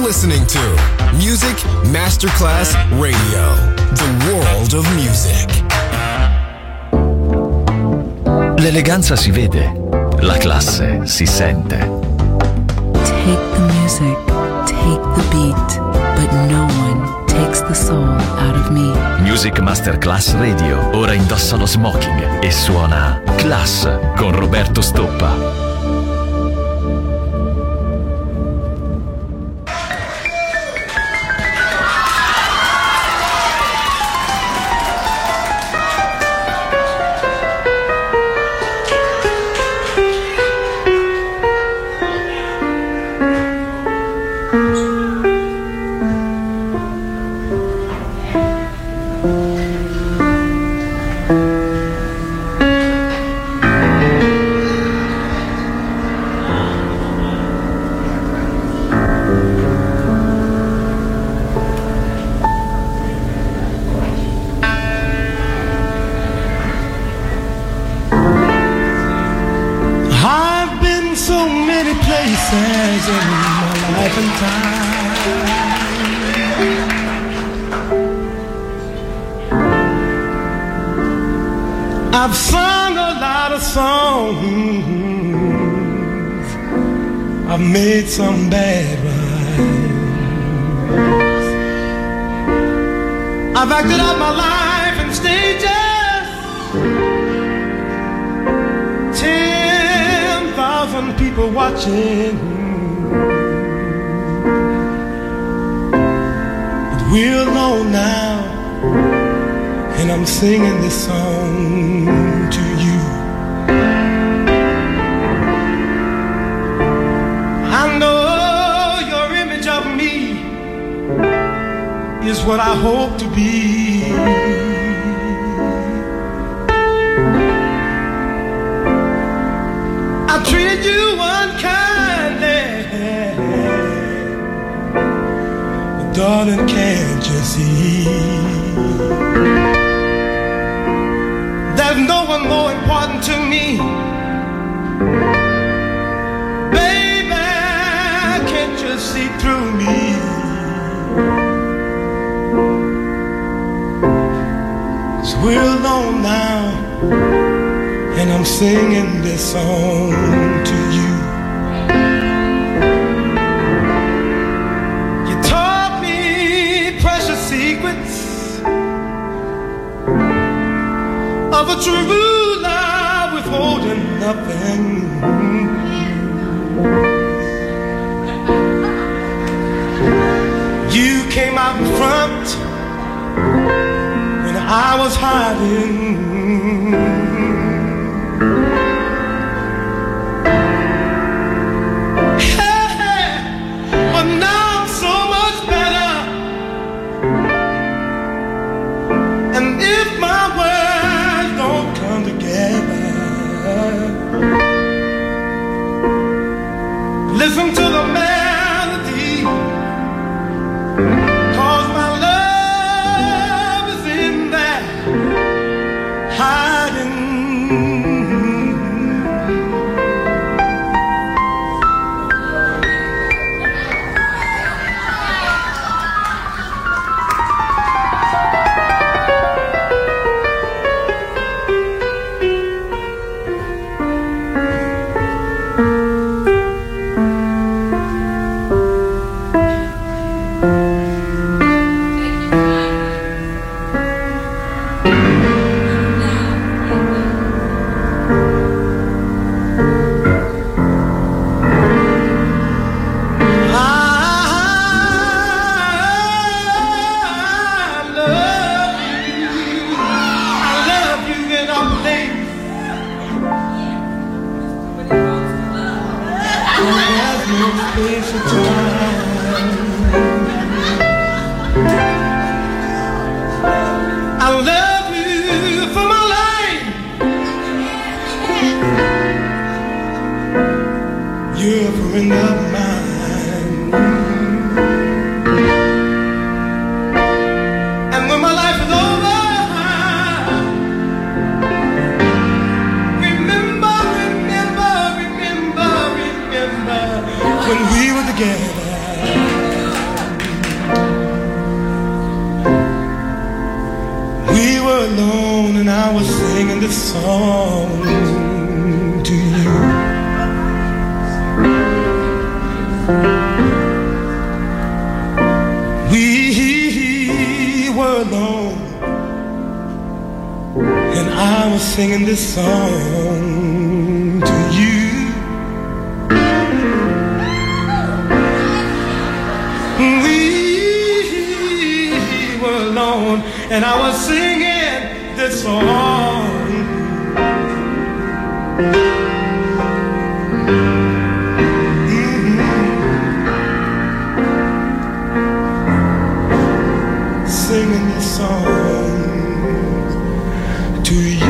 listening to Music Masterclass Radio, the world of music. L'eleganza si vede, la classe si sente. Take the music, take the beat, but no one takes the soul out of me. Music Masterclass Radio ora indossa lo smoking e suona Class con Roberto Stoppa. I've sung a lot of songs, I've made some bad rhymes, I've acted out my life in stages, 10,000 people watching, but we're alone now, and I'm singing this song to you. I know your image of me is what I hope to be. I treated you unkindly, but darling, can't you see? There's no one more important to me. Baby, can't you see through me? 'Cause we're alone now, and I'm singing this song to you. You taught me precious secrets of a true love, withholding nothing. You came out in front when I was hiding. Hey, but now I'm so much better. And if my words don't come together, listen to the melody, 'cause my love is in there hiding. I love you for my life. You're a friend of mine. And when my life is over, remember when we were together. I was singing this song to you. We were alone, and I was singing this song to you. We were alone, and I was singing this song. Singing this song to you.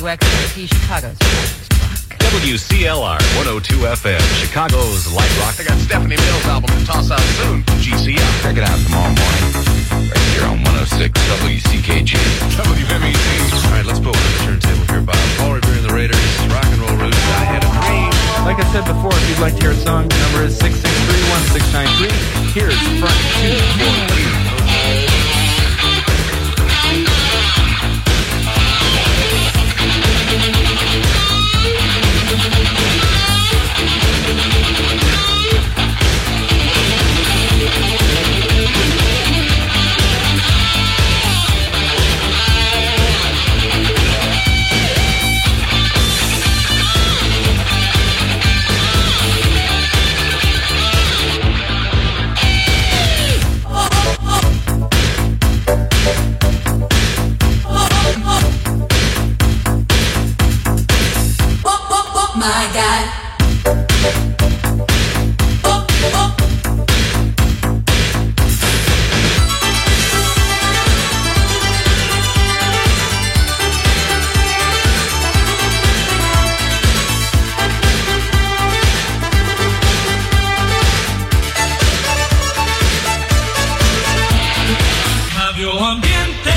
WXRT Chicago's WCLR 102 FM, Chicago's Light Rock. They got Stephanie Mills' album to toss out soon. GCL. Check it out tomorrow morning. Right here on 106 WCKG. WMEZ. All right, let's put one on the turntable here, Bob. Paul Revere and the Raiders, Rock and Roll Roots, I Had a Dream. Like I said before, if you'd like to hear a song, the number is 663-1693. Here's front 243. My God. Cambio ambiente.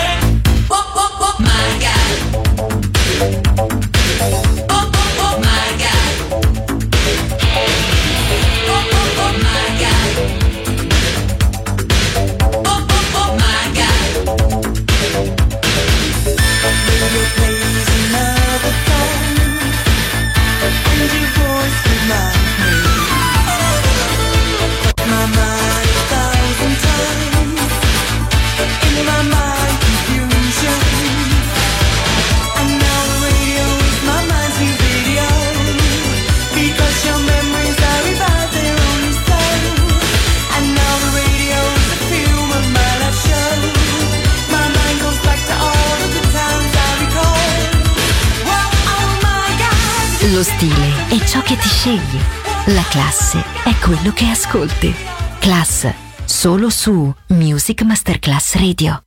My God. My God. Lo stile è ciò che ti scegli. La classe è quello che ascolti. Class, solo su Music Masterclass Radio.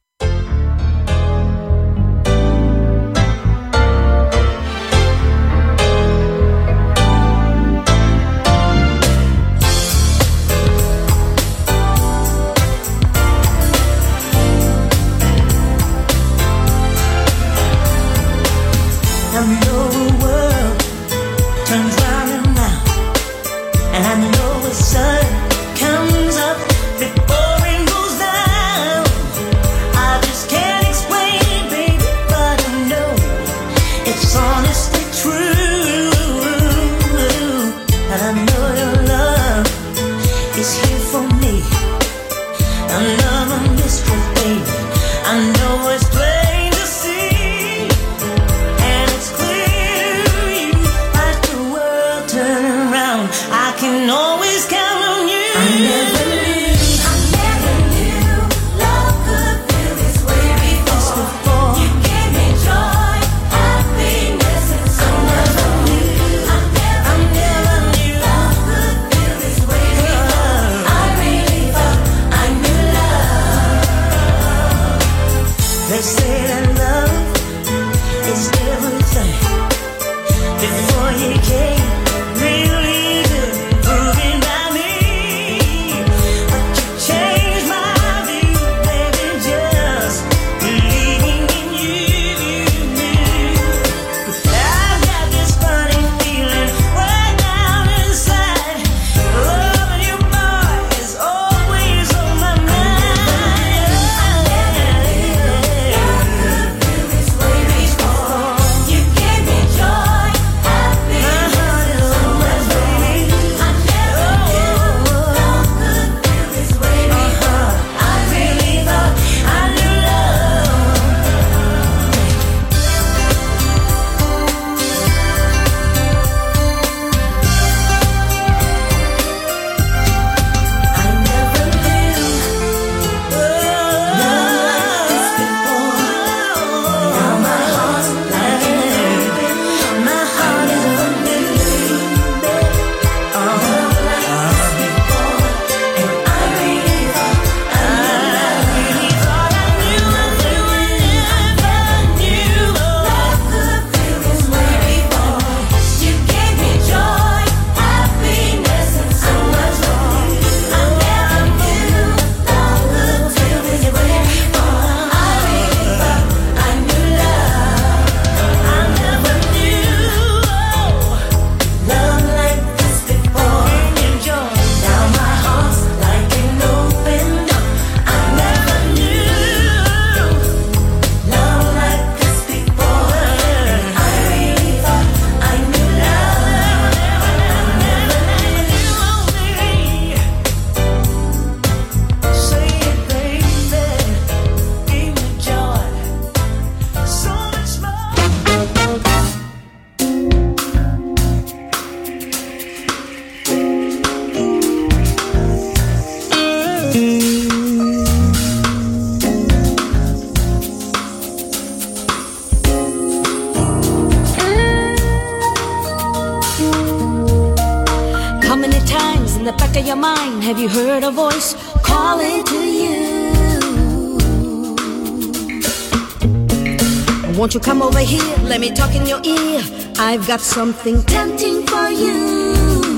have you heard a voice calling to you? Won't you come over here, let me talk in your ear. I've got something tempting for you.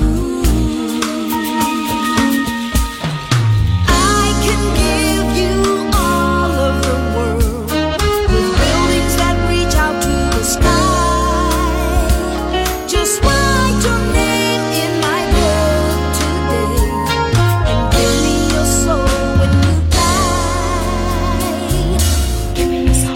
I can give you all of the world, with buildings that reach out to the sky. Just write your name in my book today, and give me your soul when you die. Give me your soul.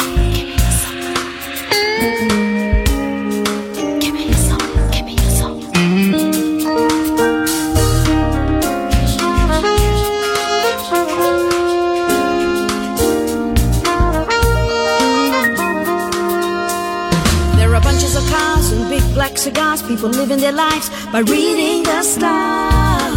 Black cigars, people living their lives by reading the stars.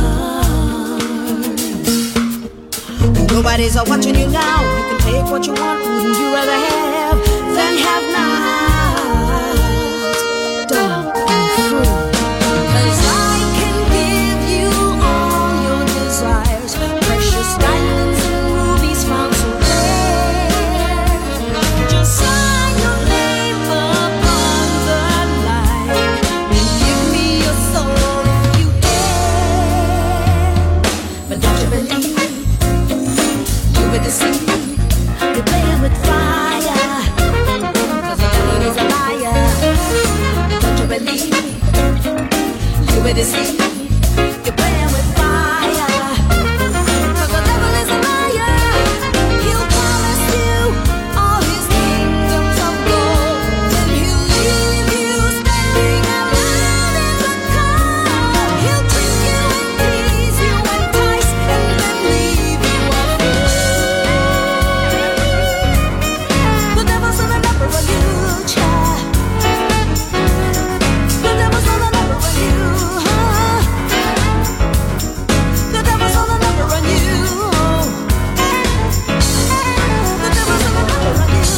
Nobody's watching you now. You can take what you want. Wouldn't you rather have than have not? Don't be fooled, 'cause I can give you all your desires. Precious diamonds and rubies found so rare. Just sign your name upon the line and give me your soul if you dare. But don't you believe you were deceived? You're playing with fire, 'cause the devil is a liar. Don't you believe you were deceived? You're playing with fire, 'cause the devil is a liar. He'll promise you all his kingdoms of gold, and he'll leave you standing alone in the cold. He'll trick you and tease you, entice and then leave you a fool. The devil's on the number on you, child. The devil's on the number on you, huh? The devil's on the number on you. The devil's on the number on you.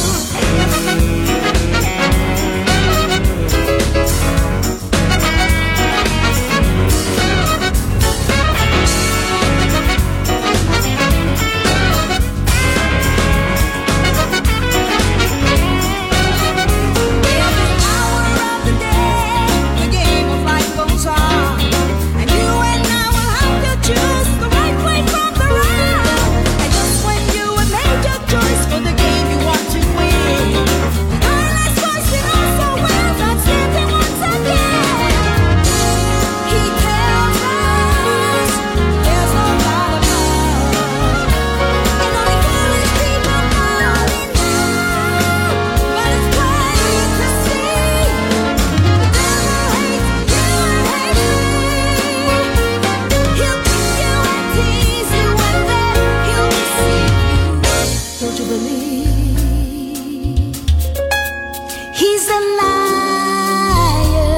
Every hour of the day, the game of life goes on, and you and I will have to choose the right way from the wrong. And just when you have made your choice for the game you want to win, the guy last voice you know so well that's standing once again. He tells us there's no God above, and only foolish people fall in love. But it's plain to see the devil hates you and hates me. He'll trick you and tease you, and then he'll deceive you. Don't you believe he's a liar?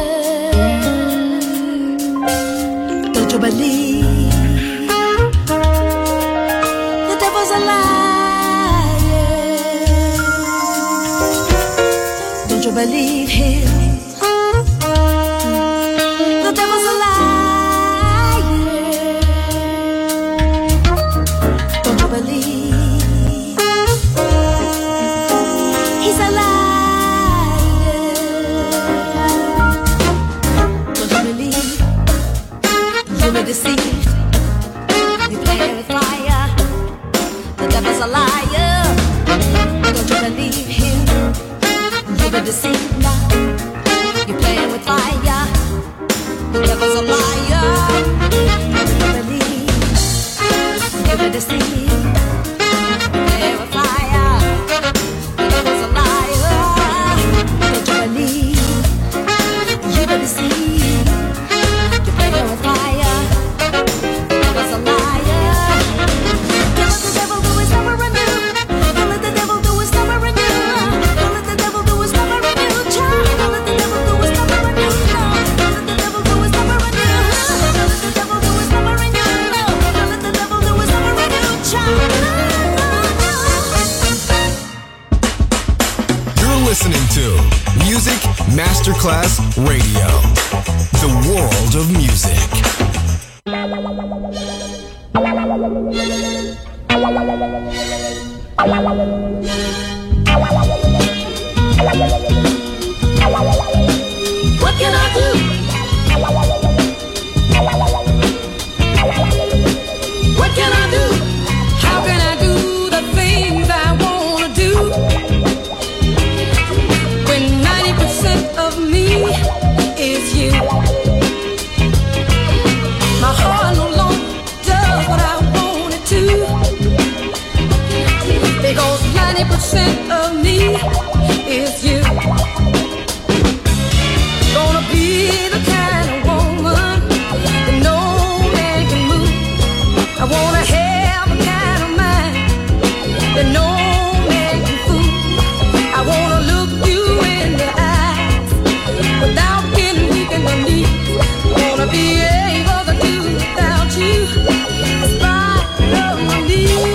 Don't you believe the devil's a liar? Don't you believe him? The devil's a liar. Don't you believe he's a liar? Don't you believe you were deceived? You playing with fire. The devil's a liar. Don't you believe him? You were deceived now. You're playing with fire. The devil's a liar. Don't you believe you were deceived? You're playing with fire. The devil's a liar. Don't you believe you were deceived? You're playing with fire. The devil's a liar. Don't let the devil do his number on you. Don't let the devil do his number on you. Don't let the devil do his number on you, child. Don't let the devil do his number on you. Don't let the devil do his number on you. Don't let the devil do his number on you. Don't let the devil do his number on you, child. You're listening to Music Masterclass Radio, the world of music. What can I do? What can I do? How can I do the things I wanna do when 90% of me is you? My heart no longer does what I want it to, because 90% of me is you. Gonna be the kind of woman that no man can move. I wanna have a kind of mind that no man can fool. I wanna look you in the eyes without getting weak in the knees. Wanna be able to do without you in spite of my needs.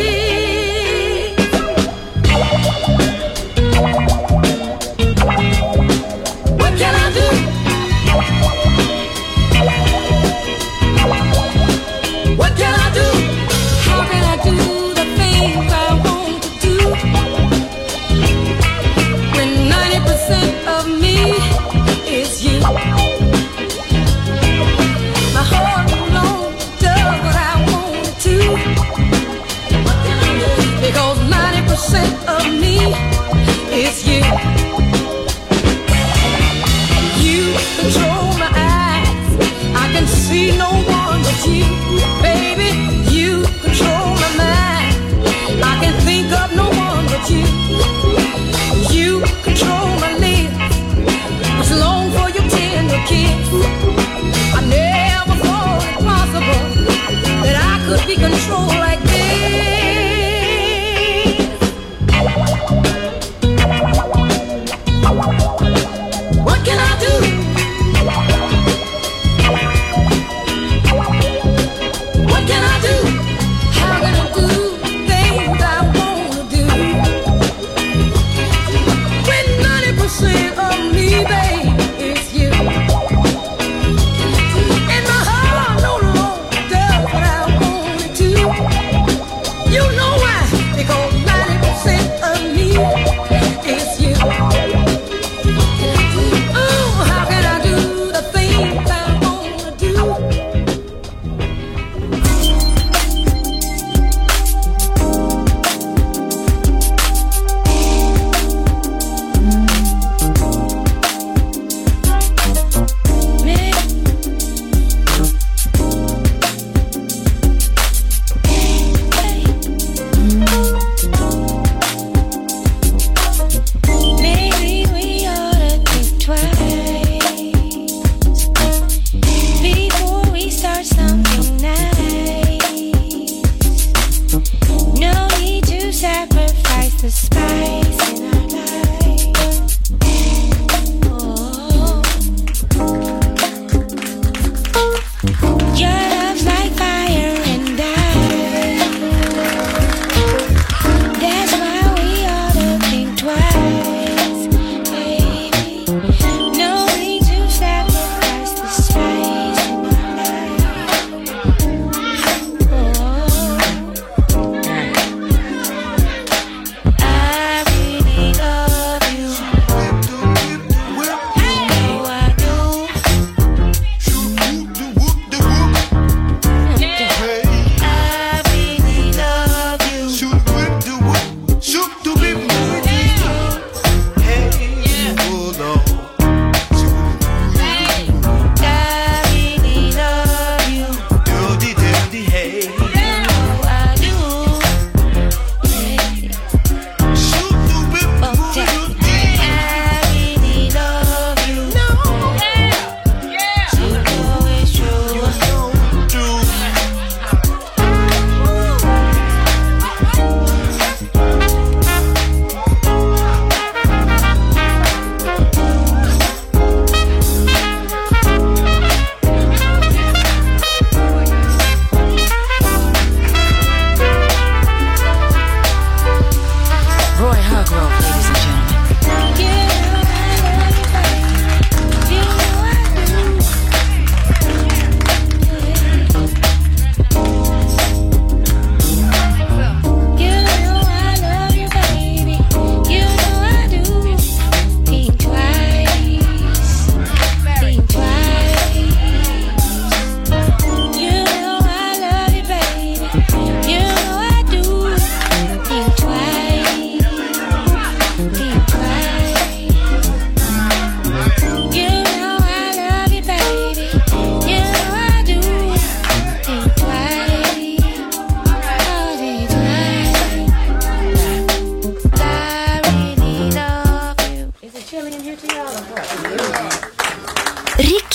What can I do? What can I do? How can I do the things I want to do when 90% of me is you? My heart alone does what I want to. What can I do? Because 90% of me is you. You control my eyes. I can see no one but you, baby. You control my mind. I can think of no one but you. You control my lips, which long for your tender kiss. I never thought it possible that I could be controlled like this. What can I do? What can I do? How can I do things I wanna do when 90% of me, babe, is you? And my heart no longer does what I want it to. You know why? Because 90% of me is you. Oh, how can I do the things I wanna do? Maybe we ought to think twice before we start something nice. No need to sacrifice the spice in our life. Oh. Your love's like fire and ice. That's why we ought to think twice, baby. No need to sacrifice the spice in our life. Oh. I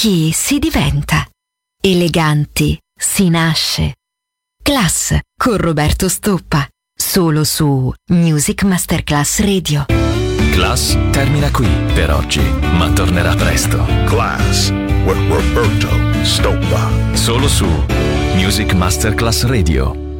chi si diventa. Eleganti si nasce. Class con Roberto Stoppa. Solo su Music Masterclass Radio. Class termina qui per oggi, ma tornerà presto. Class with Roberto Stoppa. Solo su Music Masterclass Radio.